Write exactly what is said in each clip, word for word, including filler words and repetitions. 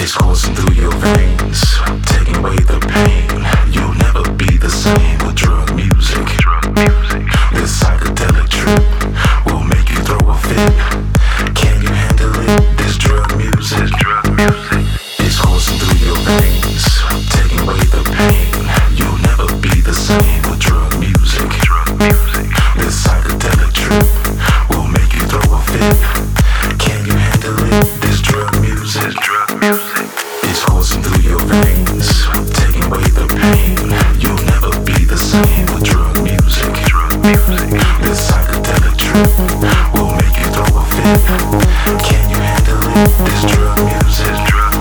It's coursing through your veins, taking away the pain. You'll never be the same with drug music. Drug music. This psychedelic trip will make you throw a fit. Can you handle it? This drug music. This drug music. It's coursing through your veins, taking away the pain. You'll never be the same with drug music. Drug music. This psychedelic trip will make you throw a fit. Can you handle it? This drug music. This drug music. It's coursing through your veins, taking away the pain. You'll never be the same with drug music. Drug music. This psychedelic trip will make you throw a fit. Can you handle it? This drug music. Drug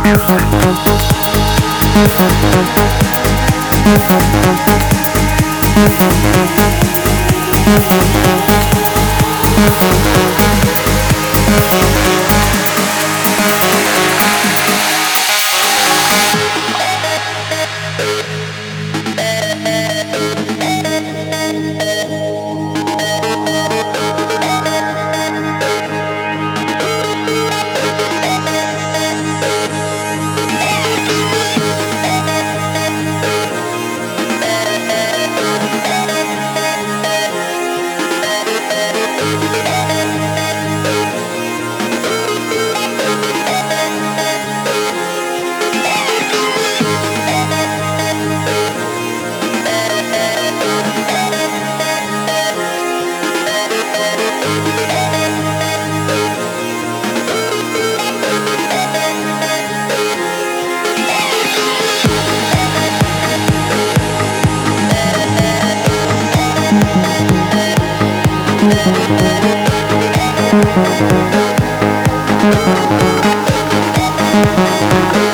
music.